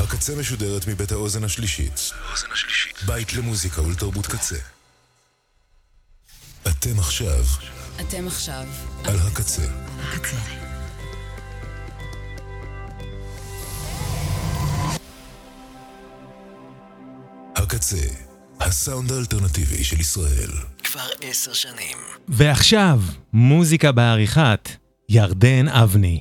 הקצה משודרת מבית האוזן השלישית. בית למוזיקה ולתרבות קצה. אתם עכשיו על הקצה. הקצה, הסאונד האלטרנטיבי של ישראל. כבר 10 שנים. ועכשיו, מוזיקה בעריכת ירדן אבני.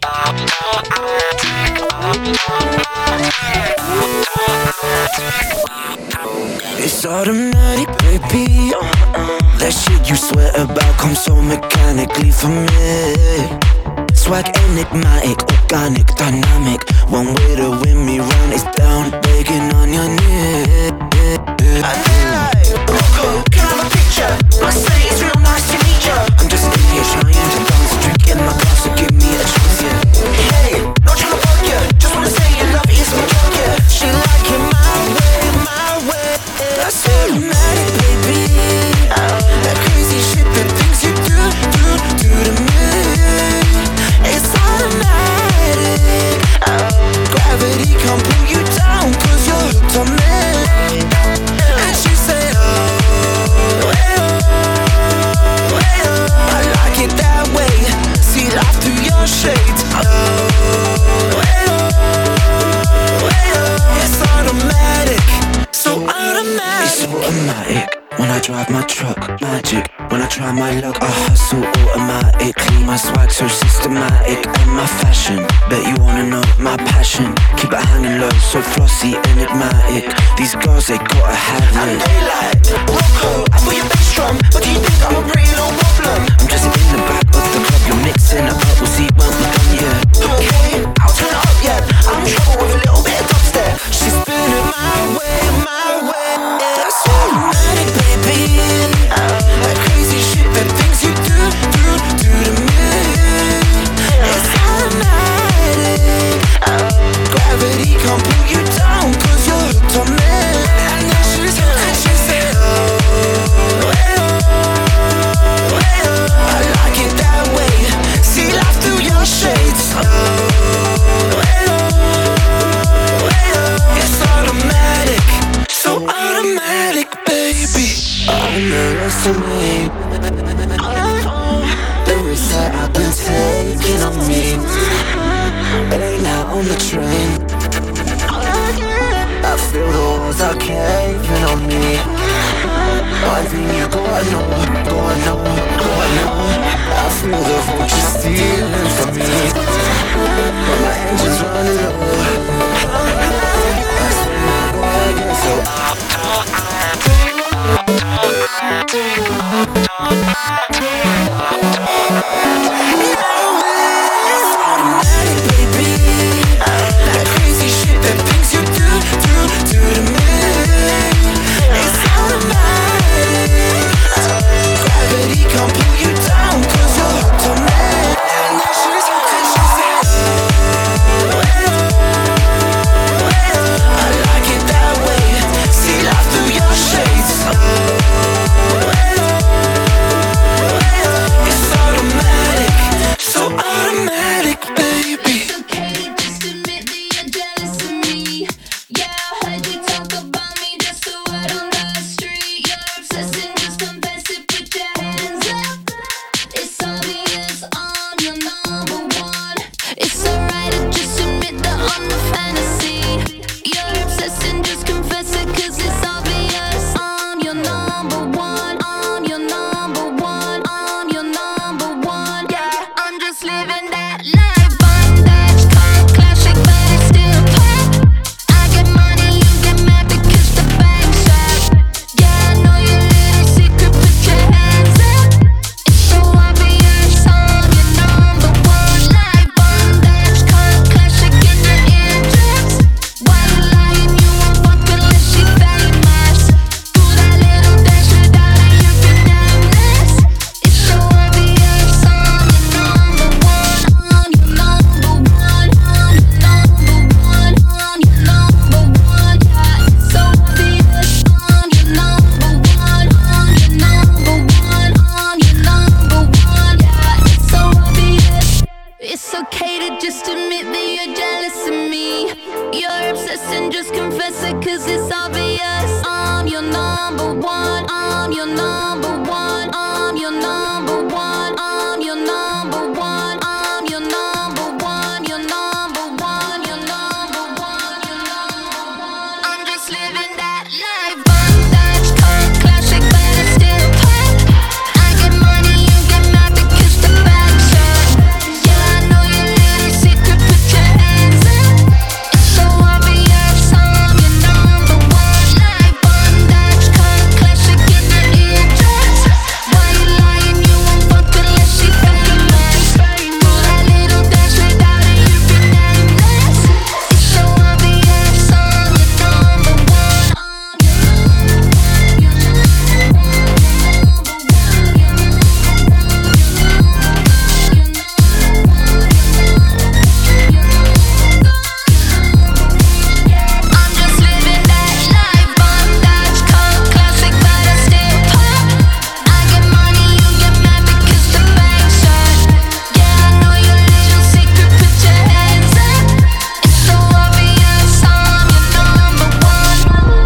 It's automatic, baby. That shit you swear about comes so mechanically for me. Swag enigmatic, organic, dynamic. One way to win me round is down, begging on your knees. Rocco, can I have a picture? Must say it's real nice to meet ya. I'm just in here trying to dance, a drink in my glass, so give me a chance, yeah. Hey, not trying to bug ya, just wanna say your love is my drug, yeah. She like it my way. That's automatic, baby. That crazy shit, the things you do to me. It's automatic. Gravity can't pull you down, cause you're hooked on me. And she say, oh, I like it that way. See life through your shades. It's automatic. So automatic. It's automatic. When I drive my truck, magic. When I try my luck, I hustle automatically. My swag so systematic, and my fashion. Bet you wanna know my passion. Keep it hanging low, so flossy, enigmatic. These girls, they gotta have it. And they like, Rocco, I feel your bass drum, but do you think I'm a real problem? I'm just in the back of the club, you're mixing up, we'll see when we're done, yeah. Okay, I'll turn it up, yeah. I'm in trouble with a little bit of dubstep. She's spinning my way. That's automatic, baby. That crazy shit, the things you do to me. It's automatic. Gravity can't pull you down, cause you're hooked on me. And now she said, oh, I like it that way. See life through your shades. It's automatic. So automatic, baby. Underestimate the risks that I've been taking on me. It ain't now on the train. I feel the walls are caving on me. One thing you gotta know. I feel the vultures stealing from me. But my engine's running low. I swear I'm gonna get so automatic, baby. That crazy shit, that things you do to me. It's automatic. Gravity can't pull you down, cause you're hooked on me. And she said, then just confess it, cause it's obvious. I'm your number one, I'm your number one, I'm your number one, I'm your number one, I'm your number one, your number one, your number one, your number one. I'm just living that life. Bondage, cold classic, but I still pop. I get money, you get mad because the back's shut. Yeah, I know your little secret, put your hands up. It's so obvious, I'm your number one. Life, bondage, cold classic in the eardrums. Why you lying? You won't fuck unless she fucking mess. Do that little dance without it, you be nameless. It's so obvious, I'm your number one. I'm just living that life. Bondage, cold classic, but I still pop. I get money, you get mad because the bank's shut. Yeah, I know your little secret, put your hands up. It's so obvious, I'm your number one.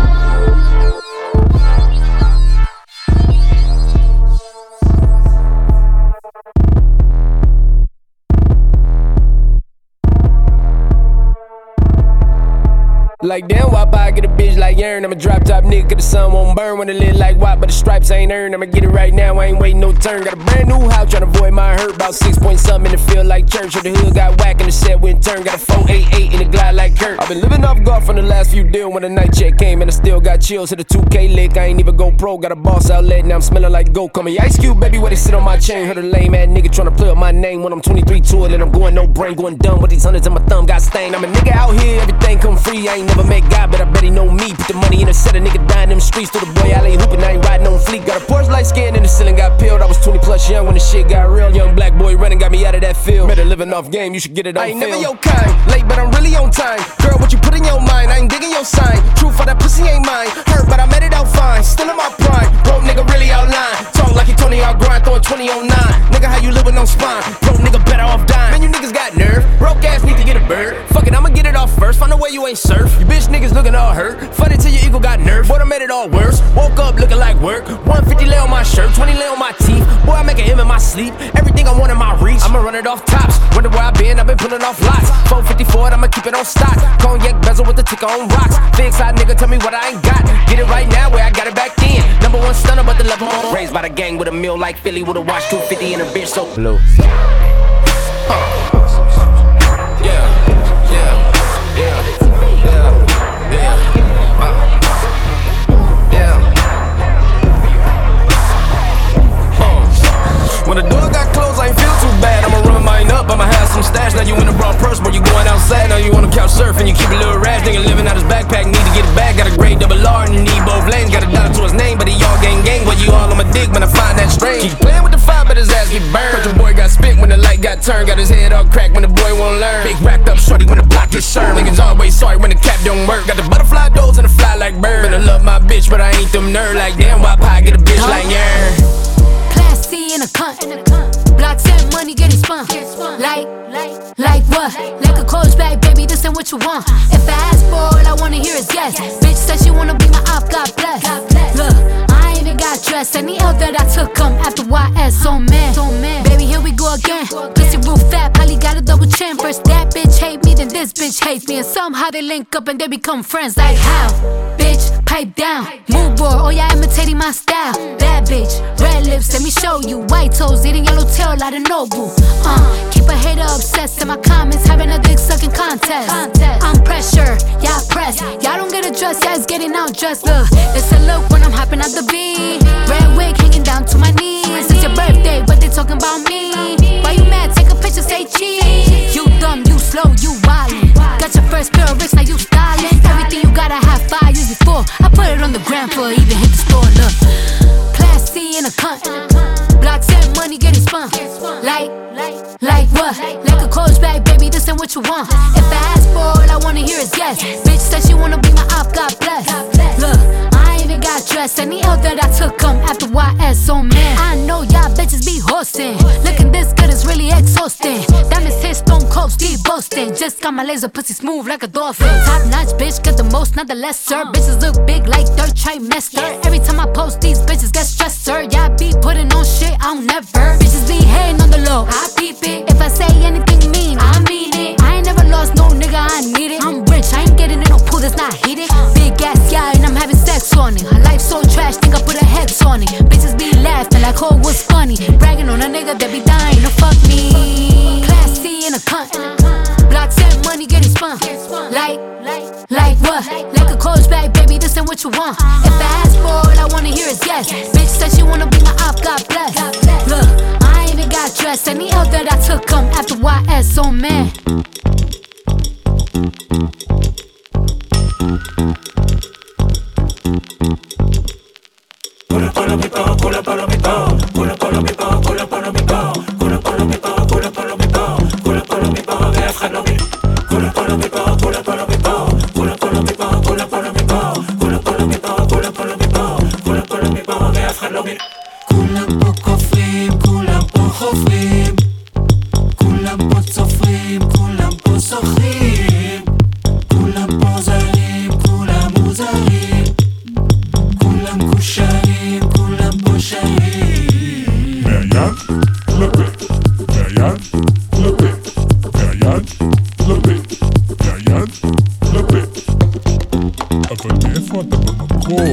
Like damn, why I get a bitch like Aaron? I'm a drop top nigga, cause the sun won't burn when it lit like WAP, but the stripes ain't earned. I'ma get it right now, I ain't waiting no turn. Got a brand new house, tryna avoid my hurt. About 6 point something in the field like church. Or the hood got whack and the set went turn. Got a 488 in the glide like Kurt. I've been living off golf on the last few deals. When the night check came and I still got chills. Hit a 2K lick, I ain't even go pro. Got a boss outlet, now I'm smelling like goat. Call me Ice Cube, baby, where they sit on my chain. Heard a lame ass nigga tryna play up my name. When I'm 23 to it, and I'm going no brain, going dumb. With these hundreds in my thumb got stained. I'm a nigga out here, everything come free. I ain't never met God, but I bet he know me. Put the money in a set, a nigga dying in them streets. Through the boy alley hooping, I ain't riding on fleek. Got a Porsche light skin in the ceiling, got peeled. I was 20 plus young when the shit got real. Young black boy running, got me out of that field. Better living off game, you should get it on film. I ain't never your kind, late but I'm really on time. Girl, what you put in your mind, I ain't digging your sign. Truth for that pussy ain't mine. Hurt, but I made it out fine. Still in my prime, broke nigga really outline. Talk like he Tony out grind, throwing 20 on 9. Nigga, how you living on spine? Broke nigga better off dying. Man, you niggas got nerve. Broke ass need to get a bird. Fuck it, I'ma get it off first. Find a way you ain't surf. You bitch niggas looking all hurt. Funny till your ego got nerve. Boy, I made it all worse. Woke up looking like work. 150 lay on my shirt, 20 lay on my teeth. Boy, I make an M in my sleep. Everything I want in my reach. I'ma run it off tops. Wonder where I been, I've been pulling off lots. 454, I'ma keep it on stock. Cognac bezel with the ticker on rocks. Big side nigga, tell me what I ain't got. Get it right now where I got it back then. Number one stunner, but the level on. Raised by the gang with a meal like Philly with a watch 250 and a bitch so blue. When the door got closed, I ain't feel too bad. I'ma run mine up, I'ma have some stash. Now you in the wrong purse, but you going outside. Now you on the couch surfing, you keep a little rash. Nigga living out his backpack, need to get it back. Got a grade double R and you need both lanes. Got a dollar to his name, but he all gang. But you all on my dick when I find that strange. Keep playing with the fire, but his ass get burned. But your boy got spit when the light got turned. Got his head all cracked when the boy won't learn. Big racked up shorty when the block gets served. Niggas always sorry when the cap don't work. Got the butterfly doors and the fly like bird. Better love my bitch, but I ain't them nerd. Like damn, why pie get a bitch like yeah. Classy in a cunt. Blocks and money getting spun. Like what? Like a coach bag, baby, this ain't what you want. If I ask for all I wanna hear is yes. Bitch said she wanna be my op, God bless. Look, I ain't even got dressed. Any L that I took come after YS, so man. Baby, here we go again. Pussy real fat, probably got a double chin. First that bitch hate me, then this bitch hates me. And somehow they link up and they become friends. Like how? Bitch, pipe down. Mood board, oh yeah, imitating my style. Bad bitch, red lips, let me show you. White toes, eating yellow tail like a noble. Keep a hater obsessed in my comments, having a dick sucking contest. I'm pressure, y'all press. Y'all don't get a dress, yeah, it's getting out dressed. Look, it's a look when I'm hopping out the beat. Red wig hanging down to my knees. It's your birthday, but they talking about me. Why you mad? Take a picture, say cheese. You dumb, you slow, you wildin'. Got your first pair of bricks, now you stylin'. Everything you gotta have 5 years before. I put it on the gram for even hit the store. Look, classy in a cunt. Blocks and money getting spun. Like what? Like a coach bag, baby, this ain't what you want. If I ask for all I wanna hear is yes. Bitch said she wanna be my op, God bless. Look, I ain't even even got dressed. Any L that I took come after YS, oh man. I know y'all bitches be horsing. Looking this good is really exhausting. Diamonds hit stone cold, Steve boasting. Just got my laser pussy smooth like a dolphin. Top notch bitch, get the most, not the lesser. Bitches look big like third trimester. Every time I post, these bitches get stressed, sir. Y'all be putting on shit, I don't never. Bitches be hating on the low, I peep it. If I say anything mean, I mean it. I ain't never lost no nigga, I need it. I'm rich, I ain't getting in no pool that's not heated. Big ass yeah, and I'm having sex on it. Her life so trash, think I put a hex on it. Bitches be laughing like, oh, what's funny? Bragging on a nigga that be dying to fuck me. Class C in a cunt. Blocks and money getting spun. Like what? Like a coach bag, baby, this ain't what you want. If I ask for all I wanna hear is yes. Bitch said she wanna be my op, God bless. Look, I ain't even got dressed. Any L that I took come after YS, oh man. כולם פה כופרים, כולם פה חופרים, כולם פה צופרים, כולם פה שוחרים, כולם פה זרים, כולם מוזרים, כולם קושרים, כולם פה שרים. מהיד לפה, מהיד לפה, מהיד לפה, מהיד לפה. אבל מאיפה אתה במקור?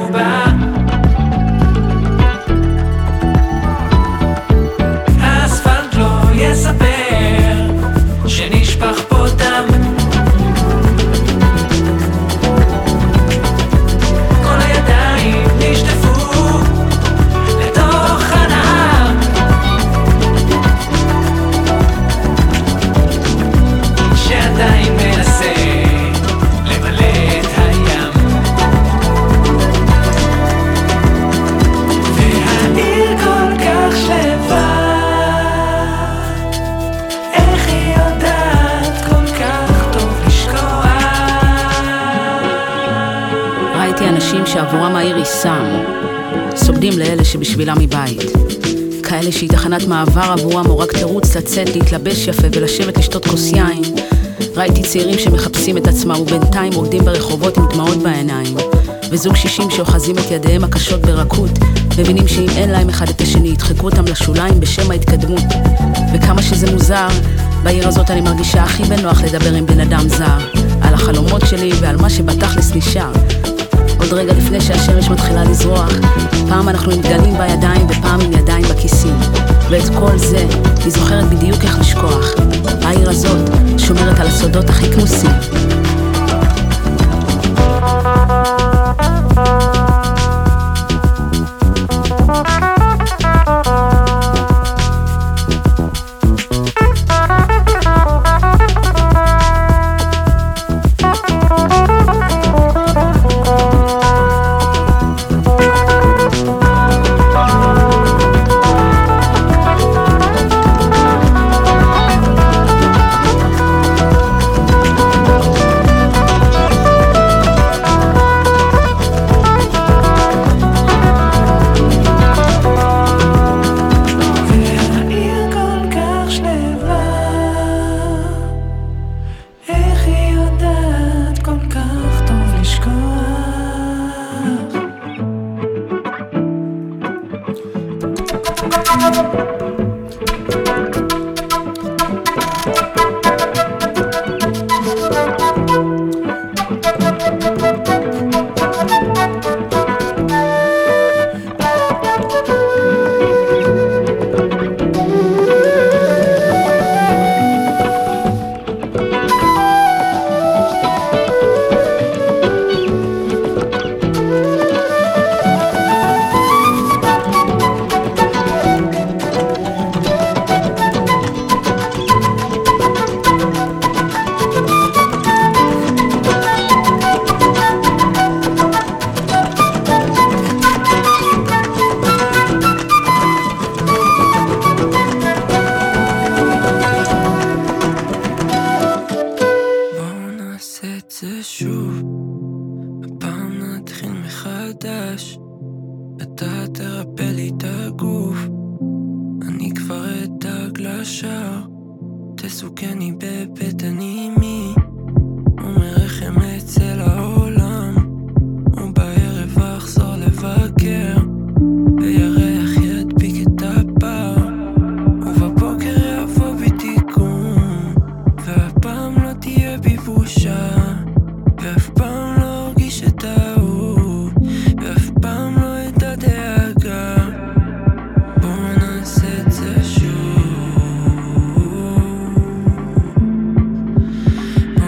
בא. האספלט לא יספר שנשפך פה דם. כל הידיים נשטפו לתוך הנהר, שעדיין מנסה למלא את הים. והעיר כל כך שלווה, איך היא יודעת כל כך טוב לשקוע. ראיתי אנשים שעבורם העיר היא סם, סוגדים לאלה שבשבילם מבית, כאלה שהיא תחנת מעבר עבורם או רק תירוץ לצאת, להתלבש יפה ולשבת לשתות כוס יין. ראיתי צעירים שמחפשים את עצמם ובינתיים רוקדים ברחובות עם דמעות בעיניים, וזוג 60 שאוחזים את ידיהם הקשות ברכות, מבינים שאם אין להם אחד את השני ידחקו אותם לשוליים בשם ההתקדמות. וכמה שזה מוזר, בעיר הזאת אני מרגישה הכי בנוח לדבר עם בן אדם זר, על החלומות שלי ועל מה שבתכלס נשאר. עוד רגע לפני שהשמש מתחילה לזרוח, פעם אנחנו עם דגלים בידיים ופעם עם ידיים בכיסים, ואת כל זה היא זוכרת בדיוק איך לשכוח. העיר הזאת שומרת על הסודות הכי כנוסים. בוא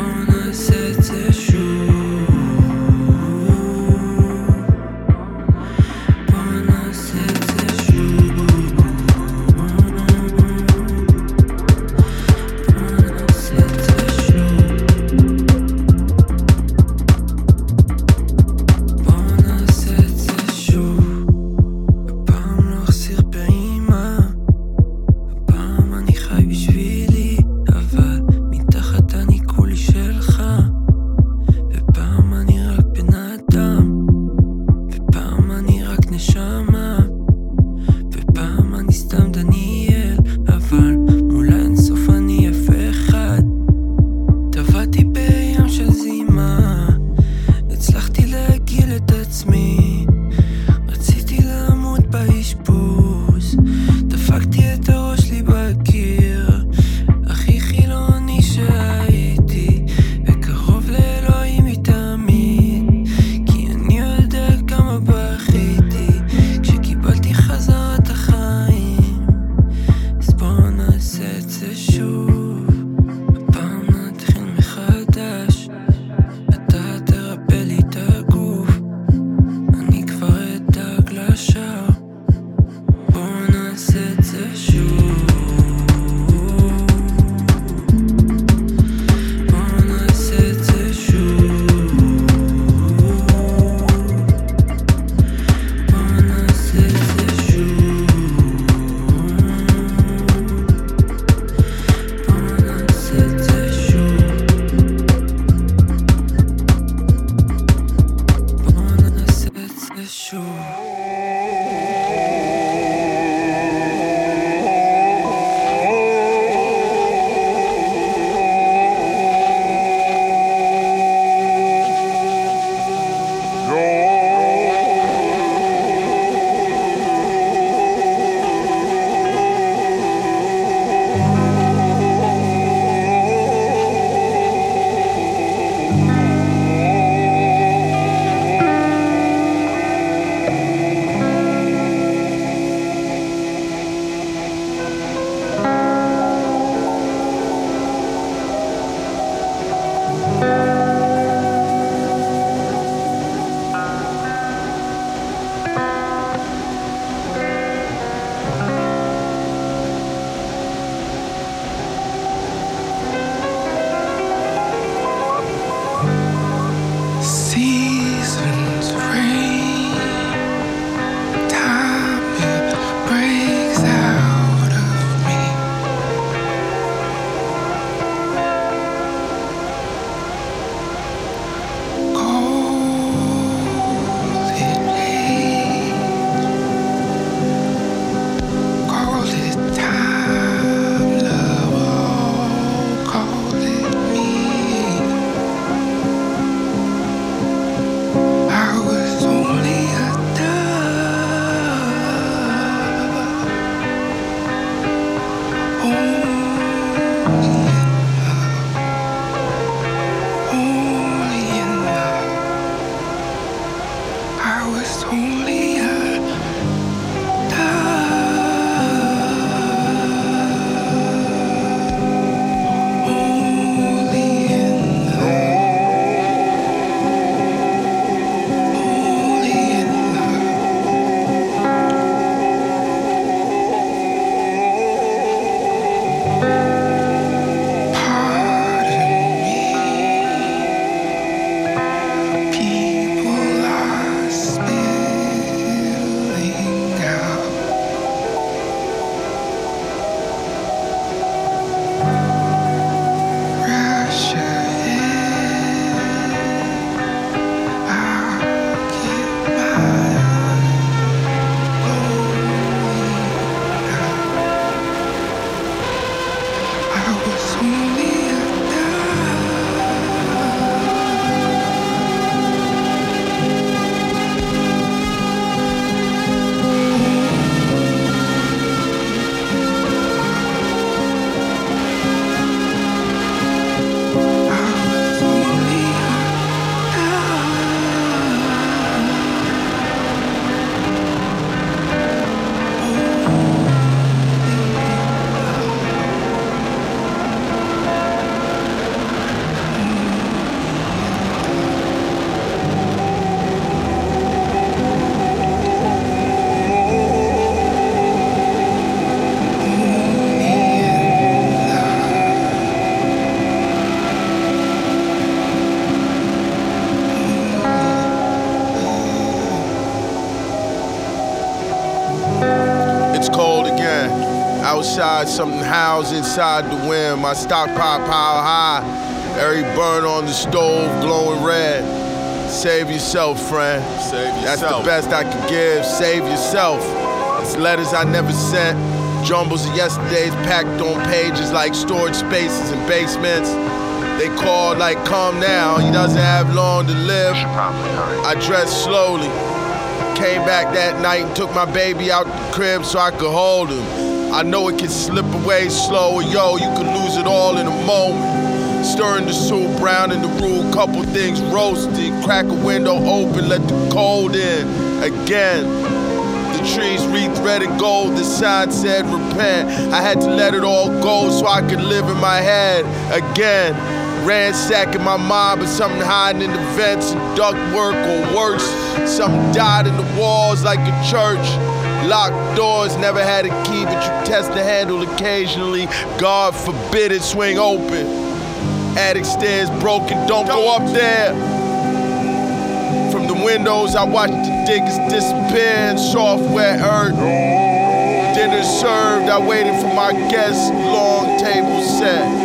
Outside, something howls inside the wind. My stockpile pile high. Every burn on the stove glowing red. Save yourself, friend. Save yourself. That's the best I can give. Save yourself. It's letters I never sent. Jumbles of yesterday's packed on pages like storage spaces and basements. They called like, come now, he doesn't have long to live. I dressed slowly. Came back that night and took my baby out the crib so I could hold him. I know it can slip away slow, yo, you could lose it all in a moment. Stirring the soup, brown in the roux, couple things roasted. Crack a window open, let the cold in. Again, the trees wreathed red and gold, the sign said repent. I had to let it all go so I could live in my head. Again, ransacking my mind, but something hiding in the vents and duct work, or worse, something died in the walls like a church. Locked doors, never had a key, but you test the handle occasionally. God forbid it swing open. Attic stairs broken, don't go up there. From the windows, I watched the diggers disappear in soft, wet earth. Dinner served, I waited for my guests, long table set.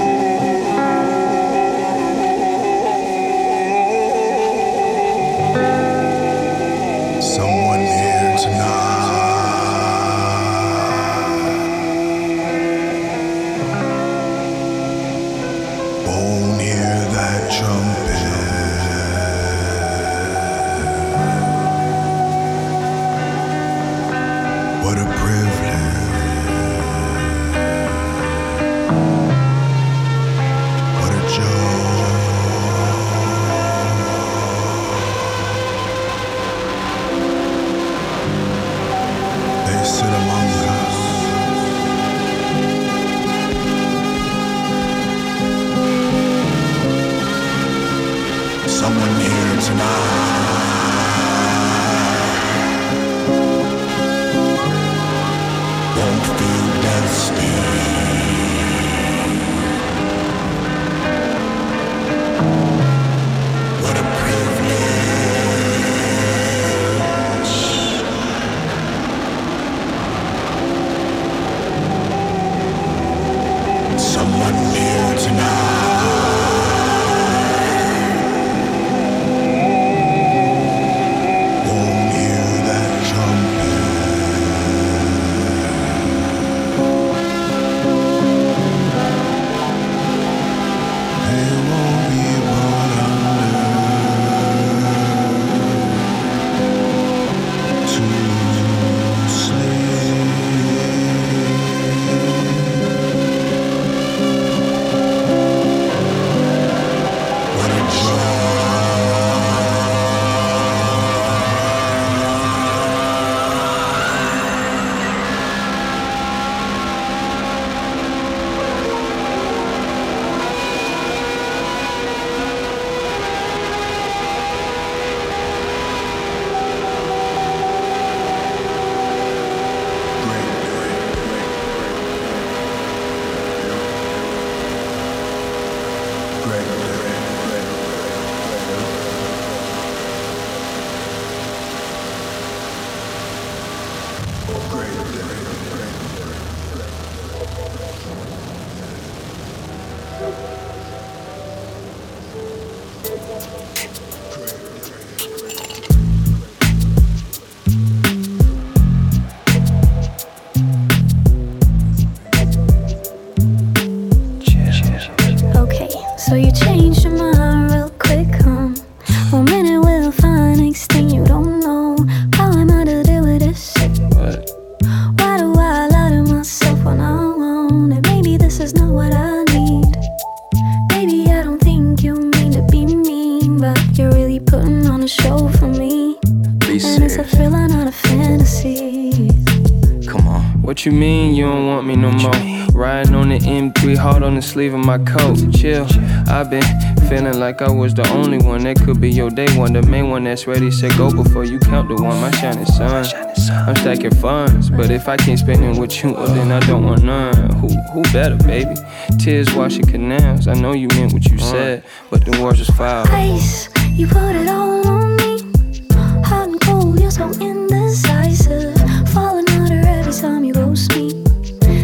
Someone here tonight. Won't hear that trumpet. What a privilege. What a joy. They sit among us. Someone here tonight. Won't feel death's sting. What a privilege. Someone here tonight. Won't hear that trumpet. They won't be brought under to sleep. What a joy. Okay, so you changed your mind real quick, huh? 1 minute we'll find, next thing you don't know. How am I to deal with this? What? Why do I lie to myself when I want it? Maybe this is not what I need. Baby, I don't think you mean to be mean, but you're really putting on a show for me. Be And it's a serious. thriller, not a fantasy. Come on. What you mean you don't want me no more? Riding on the M3, hard on the sleeve of my coat. Chill, I've been feeling like I was the only one. That could be your day one, the main one that's ready, set, go before you count the one. My shining sun, I'm stacking funds, but if I can't spend it with you, well then I don't want none. Who better, baby? Tears washing canals, I know you meant what you said, but the words was foul. Ice, you put it all on me. Hot and cold, you're so indecisive. Falling harder every time you roast me.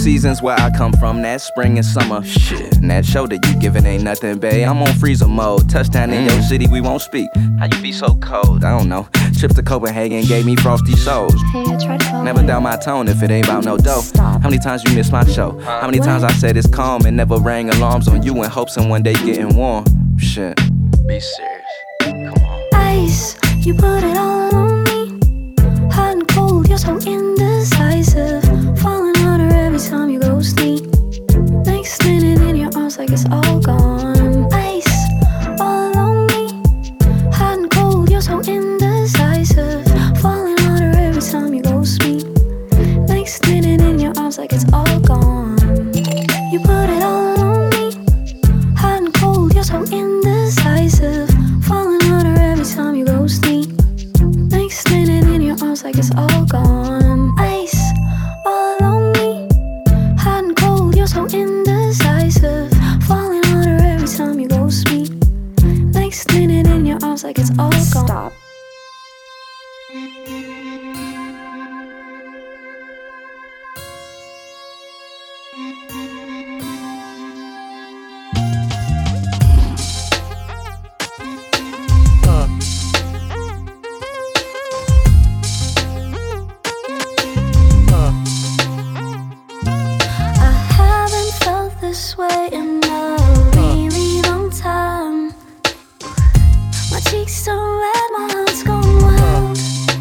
seasons where I come from, that spring and summer. Shit, and that show that you giving ain't nothing, babe. I'm on freezer mode. Touchdown in your city, we won't speak. How you be so cold? I don't know. Trip to Copenhagen gave me frosty souls. Hey, I tried to Never down my tone if it ain't about no dough. Stop. How many times you missed my show? How many times I said it's calm and never rang alarms on you in hopes of one day getting warm? Shit, be serious. Come on. Ice, you put it all on me. Hot and cold, you're so indecisive. Falling harder every time you go sneak. Next minute in your arms like it's all gone. Ice, all on me. Hot and cold, you're so indecisive. Falling harder every time you go sweet. Next minute in your arms like it's all gone. You put it all on me. Hot and cold, you're so indecisive. Falling harder every time you go sneak. Next minute in your arms like it's all gone. Ice, all on me. Hot and cold, you're so indecisive. Falling harder every time you go sweet. Next minute in your arms like it's all gone. Stop. I haven't felt this way in a really long time. My cheeks so red, my heart's gone wild.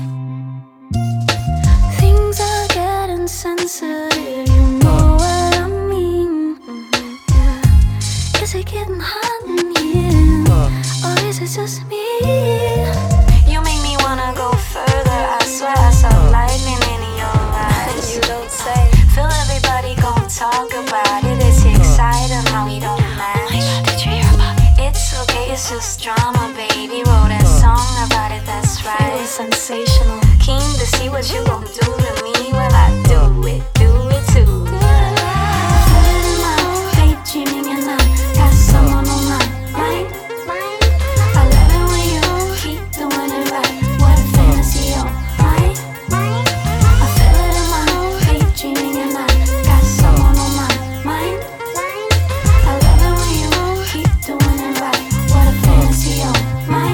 Things are getting sensitive, you know what I mean. Yeah. Is it getting hot in here, or is it just me? You make me wanna go further, I swear I saw lightning in your eyes. You don't say. Feel everybody gon' talk about it. It's exciting how we don't match. Oh my God, did you hear about it? It's okay, it's just drama, baby. Wrote a song about it, that's right. It was sensational. Keen to see what you gon' do to me when I do it too. Feel it in my daydreaming and I got someone on my mind. I love it when you keep doing it right. What a fantasy, oh my. I feel it in my daydreaming and I got someone on my mind. I love it when you keep doing it right. What a fantasy, oh my.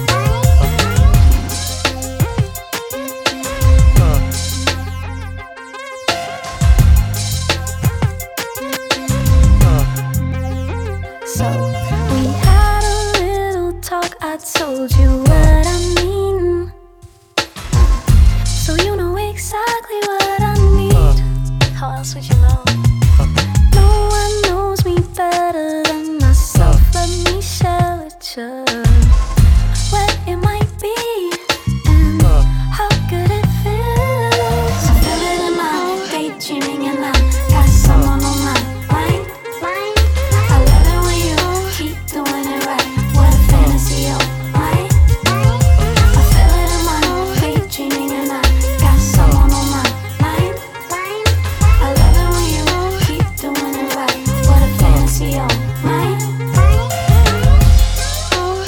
So we had a little talk, I told you what I mean. So you know exactly what I need. How else would you know? No one knows me better than myself. Let me share with you what it might be and how good it feels. I feel it in my daydreaming and I got someone on my mind. I love it when you keep doing it right. What a fantasy, oh my. I feel it in my daydreaming and I got someone on my mind. I love it when you keep doing it right. What a fantasy, oh my.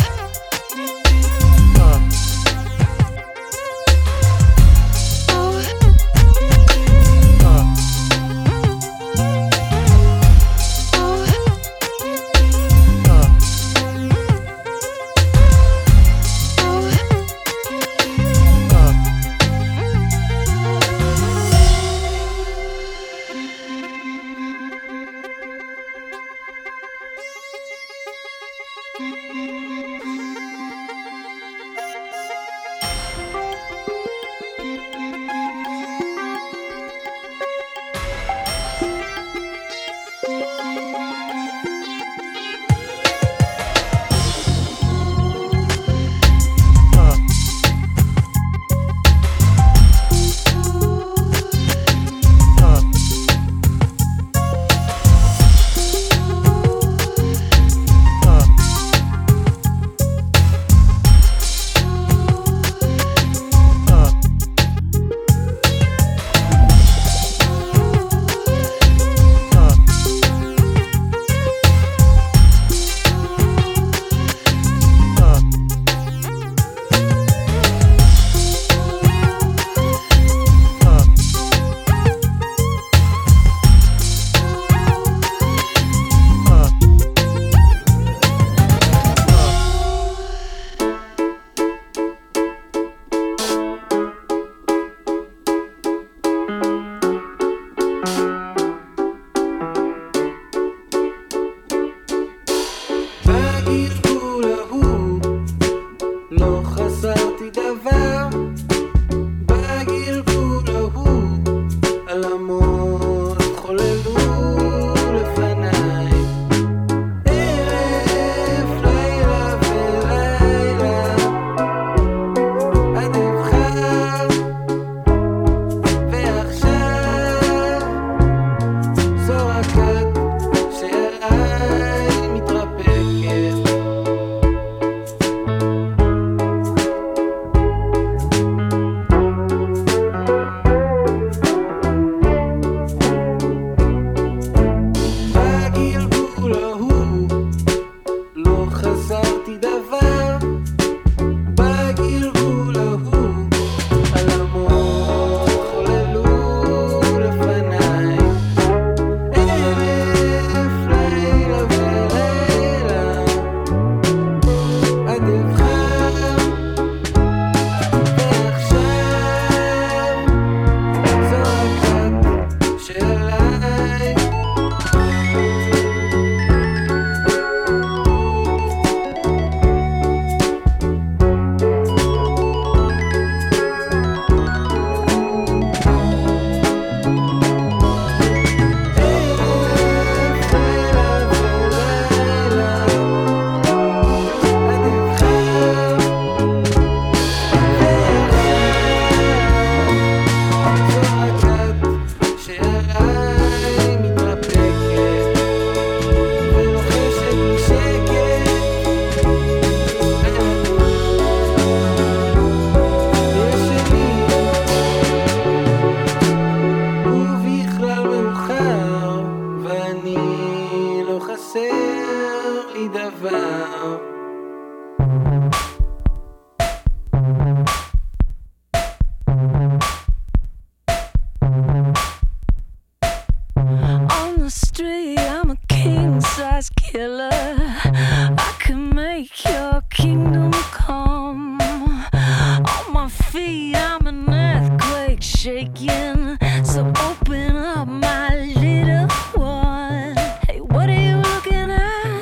shaking. So open up, my little one. Hey, what are you looking at?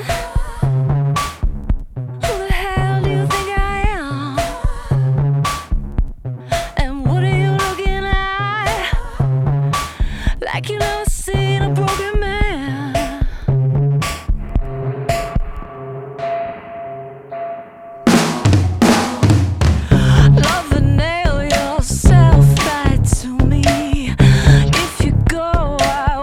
Who the hell do you think I am? And what are you looking at? Like you never seen a broken man. Love and nail yourself back to me. If you go, I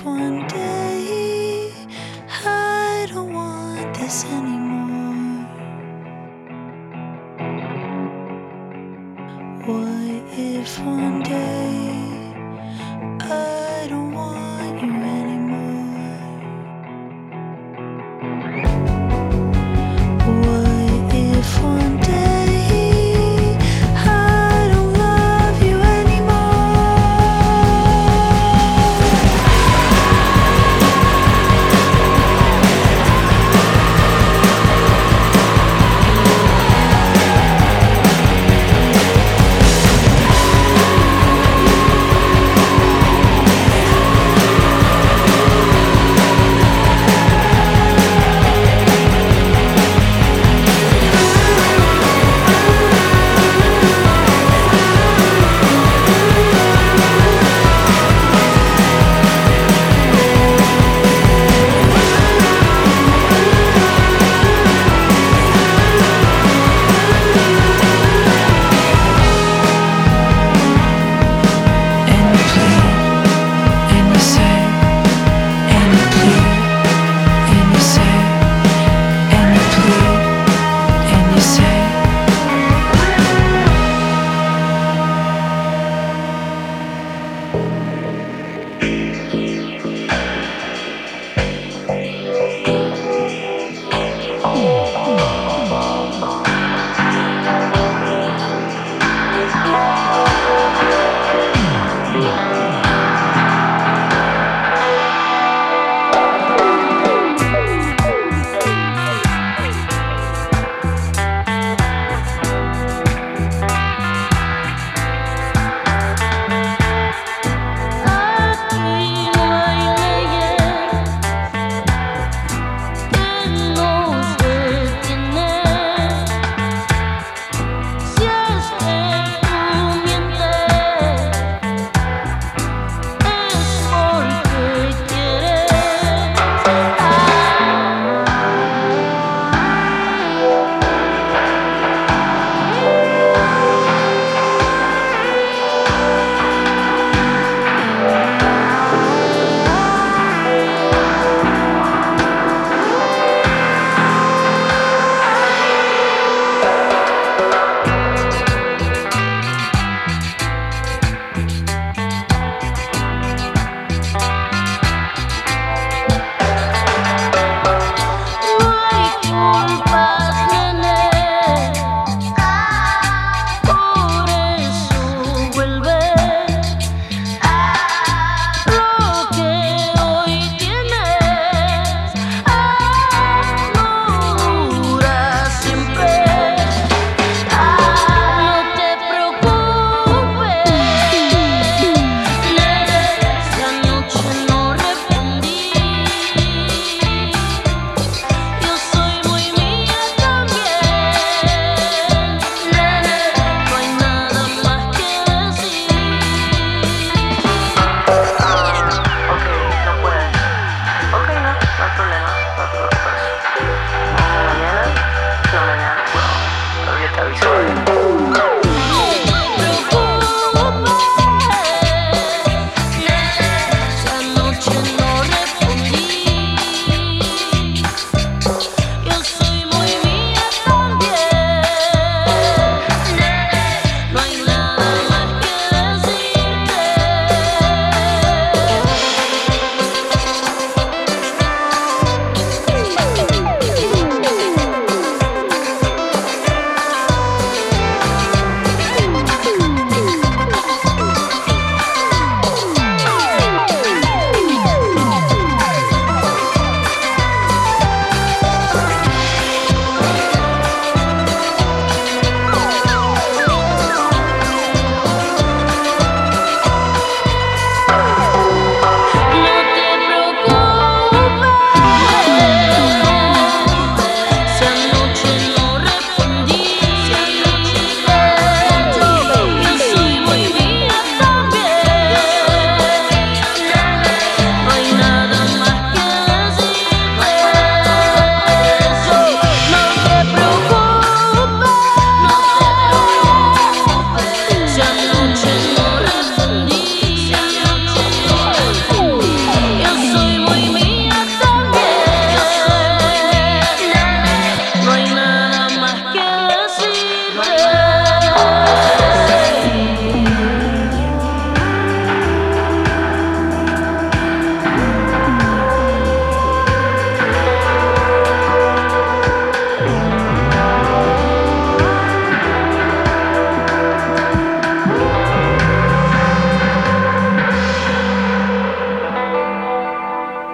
one day I don't want this anymore? What if one day I don't want you anymore? What if one day I don't love you anymore?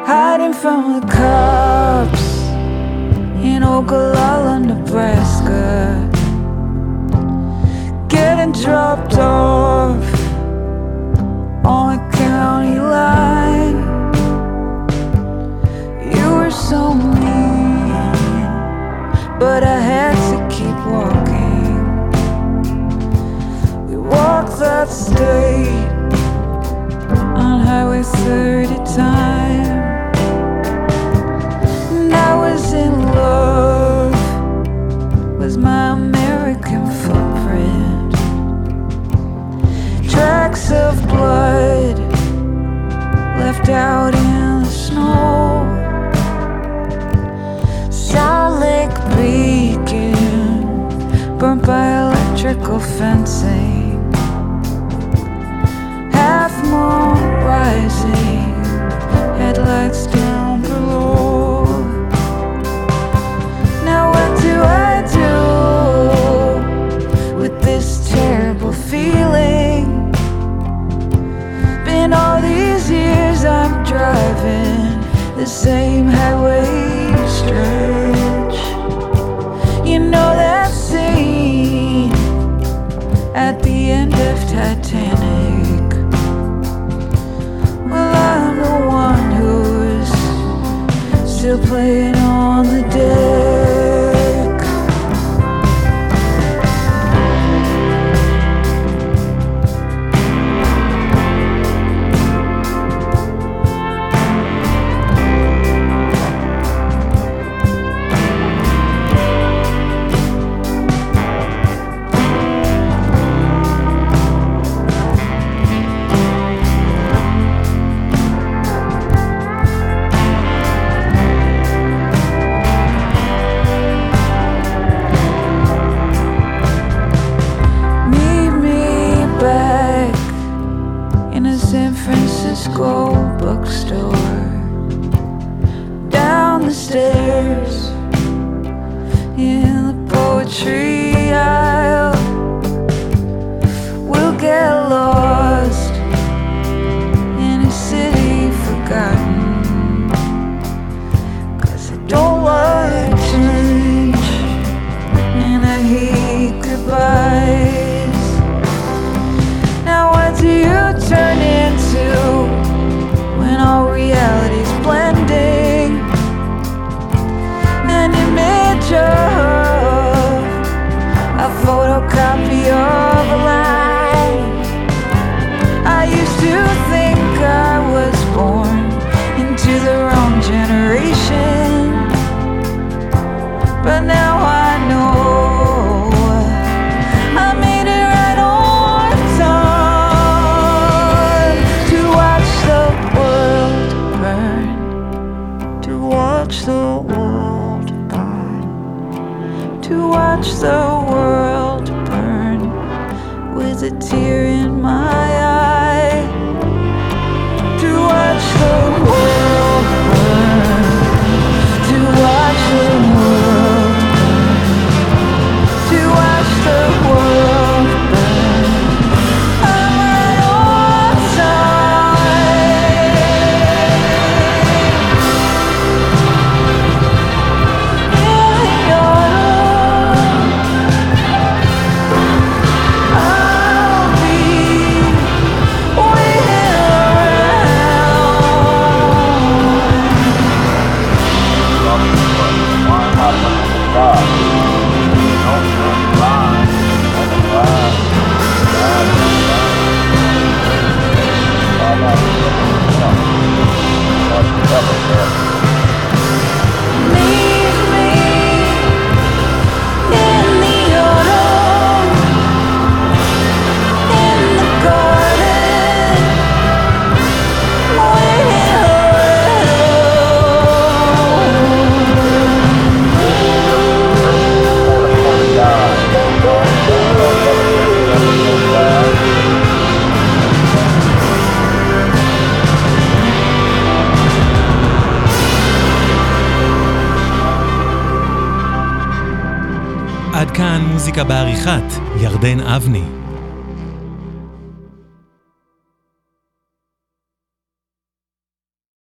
hiding from the cops in Ogallala, Nebraska, getting dropped off on a county line. You were so mean, but I had to keep walking. We walked that state on Highway 30 time. And I was in love with my American footprint. Tracks of blood left out in the snow. Salt Lake Beacon burnt by electrical fencing. Half moon rising, headlights down below. Now what do I do with this terrible feeling? Been all these years I'm driving the same highway stretch. You know that scene at the end of Titanic? Well, I'm the one who's still playing on the deck. Bookstore, down the stairs in the poetry aisle. We'll get lost in a city forgotten, 'cause I don't like change and I hate goodbyes. Now what do you turn into when all reality's blending? An image of a photocopy of a lie. I used to think I was born into the wrong generation, but now I know I made it right on time to watch the world burn, to watch the world burn, to watch the world burn with a tear in my eye, to watch the world burn, to watch the world burn, to watch the world burn. I'm right on time. In the autumn, I'll be waiting leave me in the autumn, in the garden, waiting עד כאן מוזיקה בעריכת ירדן אבני.